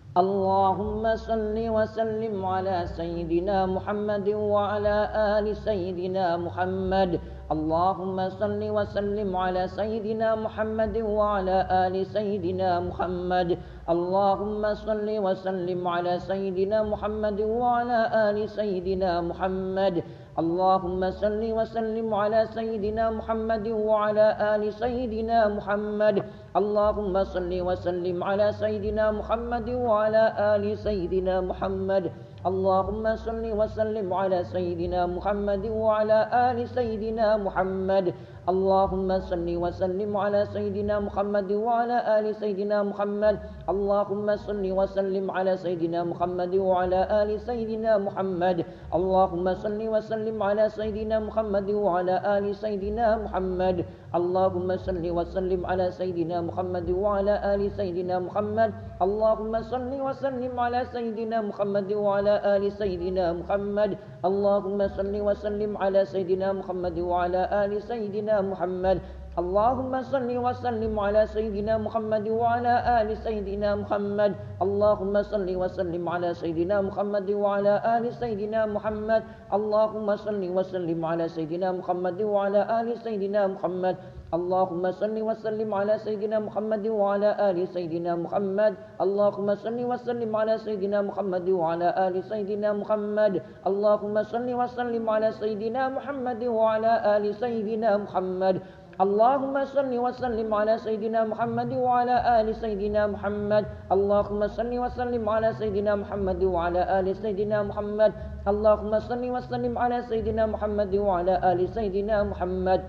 اللهم صل وسلم على سيدنا محمد وعلى آل سيدنا محمد. اللهم صل وسلم على سيدنا محمد وعلى آل سيدنا محمد. اللهم صل وسلم على سيدنا محمد وعلى آل سيدنا محمد. اللهم صل وسلم على سيدنا محمد وعلى آل سيدنا محمد. اللهم صل وسلم على سيدنا محمد وعلى آل سيدنا محمد. اللهم صل وسلم على سيدنا محمد وعلى آل سيدنا محمد. اللهم صل وسلم على سيدنا محمد وعلى آل سيدنا محمد. اللهم صل وسلم على سيدنا محمد وعلى آل سيدنا محمد. اللهم صل وسلم على سيدنا محمد وعلى آل سيدنا محمد. اللهم صل وسلم على سيدنا محمد وعلى آل سيدنا محمد. اللهم صل وسلم على سيدنا محمد وعلى آل سيدنا محمد. اللهم صل وسلم على سيدنا محمد وعلى آل سيدنا محمد. اللهم صل وسلم على سيدنا محمد وعلى آل سيدنا محمد. اللهم صل وسلم على سيدنا محمد وعلى آل سيدنا محمد. اللهم صل وسلم على سيدنا محمد وعلى آل سيدنا محمد. اللهم صل وسلم على سيدنا محمد وعلى آل سيدنا محمد. اللهم صل وسلم على سيدنا محمد وعلى آل سيدنا محمد. اللهم صل وسلم على سيدنا محمد وعلى آل سيدنا محمد. اللهم صل وسلم على سيدنا محمد وعلى آل سيدنا محمد. اللهم صل وسلم على سيدنا محمد وعلى آل سيدنا محمد. اللهم صل وسلم على سيدنا محمد وعلى آل سيدنا محمد.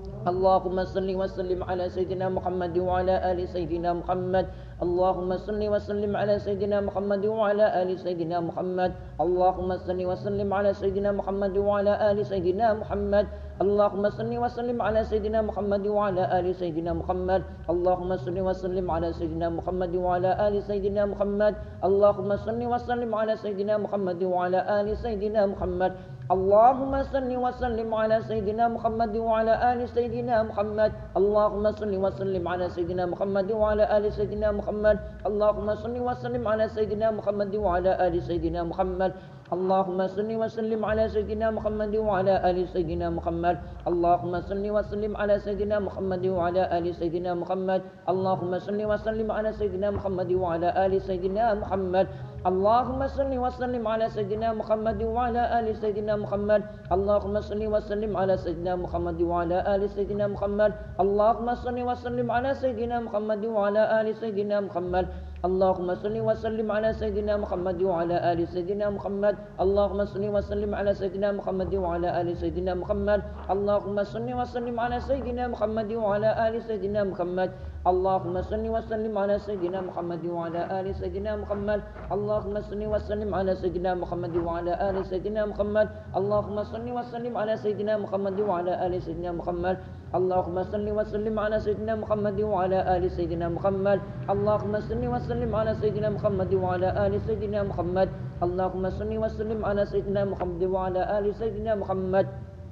اللهم صل وسلم على سيدنا محمد وعلى آل سيدنا محمد. اللهم صل وسلم على سيدنا محمد وعلى آل سيدنا محمد. اللهم صل وسلم على سيدنا محمد وعلى آل سيدنا محمد. اللهم صل وسلم على سيدنا محمد وعلى آل سيدنا محمد. اللهم صل وسلم على سيدنا محمد وعلى آل سيدنا محمد. اللهم صل وسلم على سيدنا محمد وعلى آل سيدنا محمد. اللهم صل وسلم على سيدنا محمد وعلى آل سيدنا محمد. اللهم صل وسلم على سيدنا محمد وعلى آل سيدنا محمد. اللهم صل وسلم على سيدنا محمد وعلى آل سيدنا محمد. اللهم صل وسلم على سيدنا محمد وعلى آل سيدنا محمد. اللهم صل وسلم على سيدنا محمد وعلى آل سيدنا محمد. اللهم صل وسلم على سيدنا محمد وعلى آل سيدنا محمد. اللهم صل وسلم على سيدنا محمد وعلى آل سيدنا محمد. اللهم صل وسلم على سيدنا محمد وعلى آل سيدنا محمد. اللهم صل وسلم على سيدنا محمد وعلى آل سيدنا محمد. اللهم صل وسلم على سيدنا محمد وعلى آل سيدنا محمد. اللهم صل وسلم على سيدنا محمد وعلى آل سيدنا محمد. اللهم صل وسلم على سيدنا محمد وعلى آل سيدنا محمد. اللهم صل وسلم على سيدنا محمد وعلى آل سيدنا محمد. اللهم صل وسلم على سيدنا محمد وعلى آل سيدنا محمد. اللهم صل وسلم على سيدنا محمد وعلى آل سيدنا محمد. اللهم صل وسلم على سيدنا محمد وعلى آل سيدنا محمد. اللهم صل وسلم على سيدنا محمد وعلى آل سيدنا محمد. اللهم صل وسلم على سيدنا محمد وعلى آل سيدنا محمد.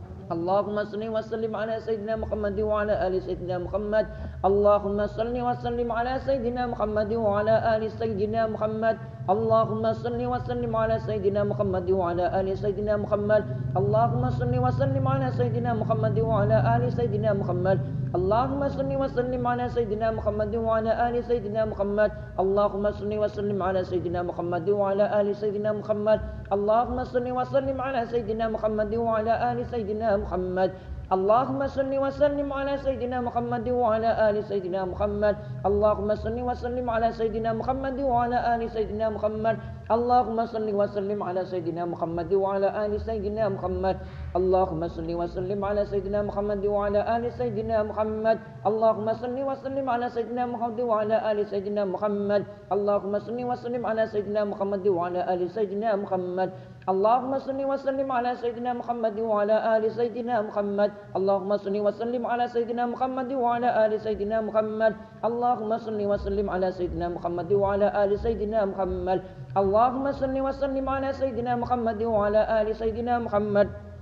اللهم صل وسلم على سيدنا محمد وعلى آل سيدنا محمد. اللهم صل وسلم على سيدنا محمد وعلى آل سيدنا محمد. اللهم صل وسلم على سيدنا محمد وعلى آل سيدنا محمد. اللهم صل وسلم على سيدنا محمد وعلى آل سيدنا محمد. اللهم صل وسلم على سيدنا محمد وعلى آل سيدنا محمد. اللهم صل وسلم على سيدنا محمد وعلى آل سيدنا محمد. اللهم صل وسلم على سيدنا محمد وعلى آل سيدنا محمد. اللهم صل وسلم على سيدنا محمد وعلى آل سيدنا محمد. اللهم صل وسلم على سيدنا محمد وعلى آل سيدنا محمد. اللهم صل وسلم على سيدنا محمد وعلى آل سيدنا محمد. اللهم صل وسلم على سيدنا محمد وعلى آل سيدنا محمد. اللهم صل وسلم على سيدنا محمد وعلى آل سيدنا محمد. اللهم صل وسلم على سيدنا محمد وعلى آل سيدنا محمد. اللهم صل وسلم على سيدنا محمد وعلى آل سيدنا محمد. اللهم صل وسلم على سيدنا محمد وعلى آل سيدنا محمد. اللهم صل وسلم على سيدنا محمد وعلى آل سيدنا محمد. اللهم صل وسلم على سيدنا محمد وعلى آل سيدنا محمد.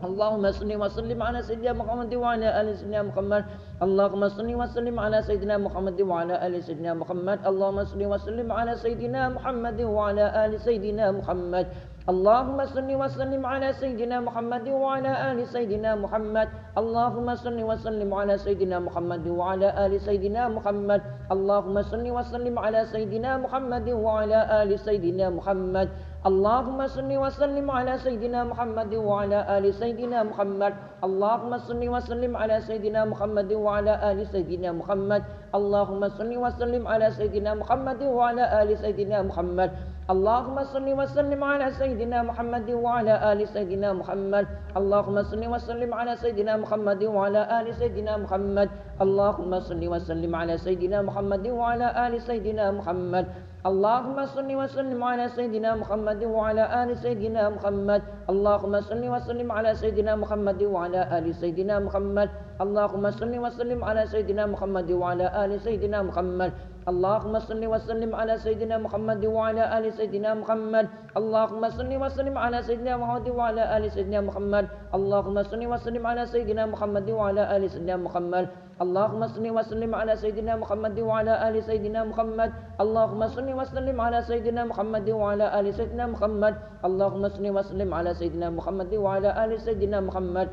اللهم صل وسلم على سيدنا محمد وعلى آل سيدنا محمد. اللهم صل وسلم على سيدنا محمد وعلى آل سيدنا محمد. اللهم صل وسلم على سيدنا محمد وعلى آل سيدنا محمد. اللهم صل وسلم على سيدنا محمد وعلى آل سيدنا محمد. اللهم صل وسلم على سيدنا محمد وعلى آل سيدنا محمد. اللهم صل وسلم على سيدنا محمد وعلى آل سيدنا محمد. اللهم صل وسلم على سيدنا محمد وعلى آل سيدنا محمد. اللهم صل وسلم على سيدنا محمد وعلى آل سيدنا محمد. اللهم صل وسلم على سيدنا محمد وعلى آل سيدنا محمد. اللهم صل وسلم على سيدنا محمد وعلى آل سيدنا محمد. اللهم صل وسلم على سيدنا محمد وعلى آل سيدنا محمد. اللهم صل وسلم على سيدنا محمد وعلى آل سيدنا محمد. اللهم صل وسلم على سيدنا محمد وعلى آل سيدنا محمد. اللهم صل وسلم على سيدنا محمد وعلى آل سيدنا محمد. اللهم صل وسلم على سيدنا محمد وعلى آل سيدنا محمد. اللهم صل وسلم على سيدنا محمد وعلى آل سيدنا محمد. اللهم صل وسلم على سيدنا محمد وعلى آل سيدنا محمد. اللهم صل وسلم على سيدنا محمد وعلى آل سيدنا محمد. اللهم صل وسلم على سيدنا محمد وعلى آل سيدنا محمد. اللهم صل وسلم على سيدنا محمد وعلى آل سيدنا محمد. اللهم صل وسلم على سيدنا محمد وعلى آل سيدنا محمد.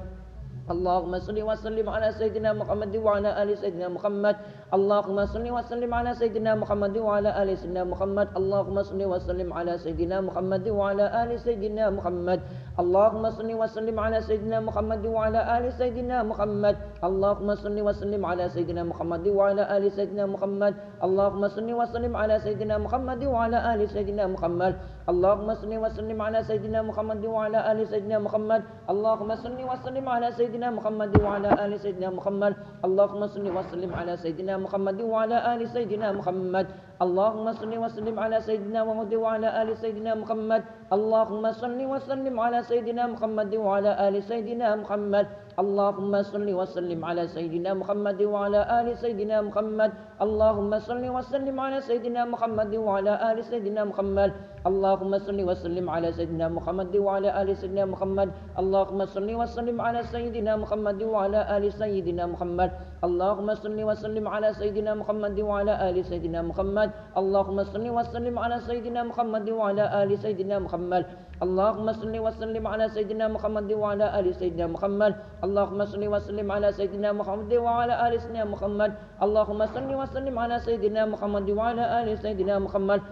اللهم صل وسلم على سيدنا محمد وعلى آل سيدنا محمد. اللهم صل وسلم على سيدنا محمد وعلى آل سيدنا محمد. اللهم صل وسلم على سيدنا محمد وعلى آل سيدنا محمد. اللهم صل وسلم على سيدنا محمد وعلى آل سيدنا محمد. اللهم صل وسلم على سيدنا محمد وعلى آل سيدنا محمد. اللهم صل وسلم على سيدنا محمد وعلى آل سيدنا محمد. اللهم صل وسلم على سيدنا محمد وعلى آل سيدنا محمد. اللهم صل وسلم على سيدنا محمد وعلى آل سيدنا محمد. اللهم صل وسلم على سيدنا محمد وعلى آل سيدنا محمد. اللهم صل وسلم على سيدنا محمد وعلى آل سيدنا محمد. اللهم صل وسلم على سيدنا محمد وعلى آل سيدنا محمد. اللهم صل وسلم على سيدنا محمد وعلى آل سيدنا محمد. اللهم صل وسلم على سيدنا محمد وعلى آل سيدنا محمد. اللهم صل وسلم على سيدنا محمد وعلى آل سيدنا محمد. اللهم صل وسلم على سيدنا محمد وعلى آل سيدنا محمد. اللهم صل وسلم على سيدنا محمد وعلى آل سيدنا محمد. اللهم صل وسلم على سيدنا محمد وعلى آل سيدنا محمد. اللهم صل وسلم على سيدنا محمد وعلى آل سيدنا محمد. اللهم صل وسلم على سيدنا محمد وعلى آل سيدنا محمد. اللهم صل وسلم على سيدنا محمد وعلى آل سيدنا محمد.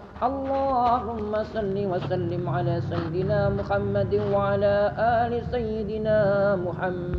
اللهم صل وسلم على سيدنا محمد وعلى آل سيدنا محمد.